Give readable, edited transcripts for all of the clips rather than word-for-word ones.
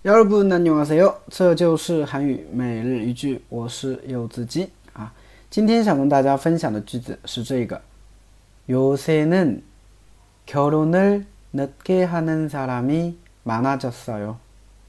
여러분 안녕하세요. 这就是韩语每日一句，我是柚子鸡啊。今天想跟大家分享的句子是这个： 요새는 결혼을 늦게 하는 사람이 많아졌어요.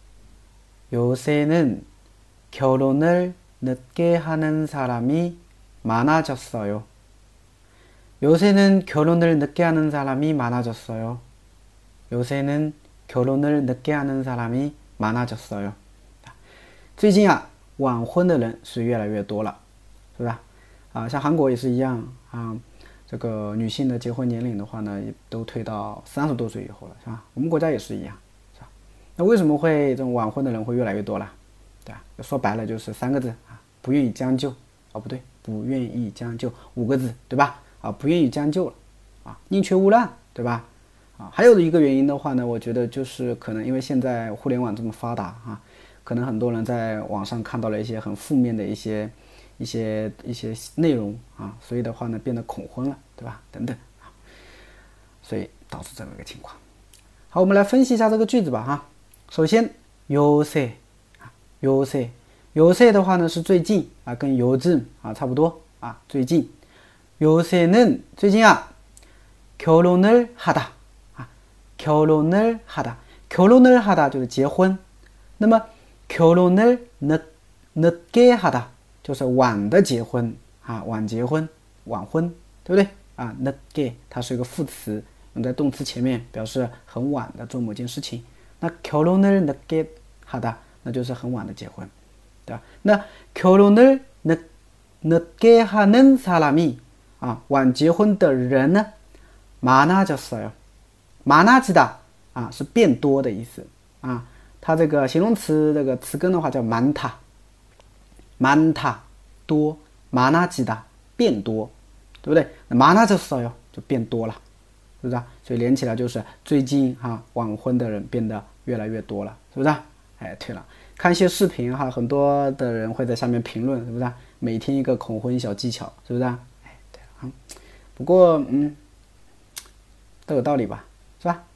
요새는 결혼을 늦게 하는 사람이 많아졌어요. 요새는 결혼을 늦게 하는 사람이 많아졌어요. 요새는 결혼을 늦게 하는 사람이 많아졌어요. 最近啊，晚婚的人是越来越多了，是吧？啊，像韩国也是一样啊，这个女性的结婚年龄的话呢，也都推到30多岁以后了，是吧？我们国家也是一样，是吧？那为什么会这种晚婚的人会越来越多了？对吧？说白了就是3个字啊，不愿意将就啊，不对，不愿意将就5个字，对吧？啊，不愿意将就了啊，宁缺毋滥，对吧？啊，还有一个原因的话呢，我觉得就是可能因为现在互联网这么发达啊，可能很多人在网上看到了一些很负面的一些内容啊，所以的话呢变得恐婚了，对吧？等等啊，所以导致这么一个情况。好，我们来分析一下这个句子吧哈。首先요새啊，요새的话呢是最近啊，跟요즘啊差不多啊，最近。요새는最近啊，결혼을 하다。결혼을 하다， 결혼을 하다就是结婚，那么결혼을 늦게 하다就是晚的结婚啊，晚结婚，晚婚，对不对啊？늦게它是一个副词，用在动词前面，表示很晚的做某件事情。那결혼을 늦게 하다那就是很晚的结婚，对吧？那결혼을 늦게 하는 사람이啊，晚结婚的人呢，많아졌어요。많아지다啊是变多的意思啊，它这个形容词这个词根的话叫많다多많아지다变多，对不对？那많아졌어요就变多了，是不是啊？所以连起来就是最近哈晚婚的人变得越来越多了，是不是啊？哎，对了，看一些视频哈，很多的人会在下面评论，是不是啊？每天一个恐婚小技巧，是不是啊？哎，对了，不过都有道理吧。是吧？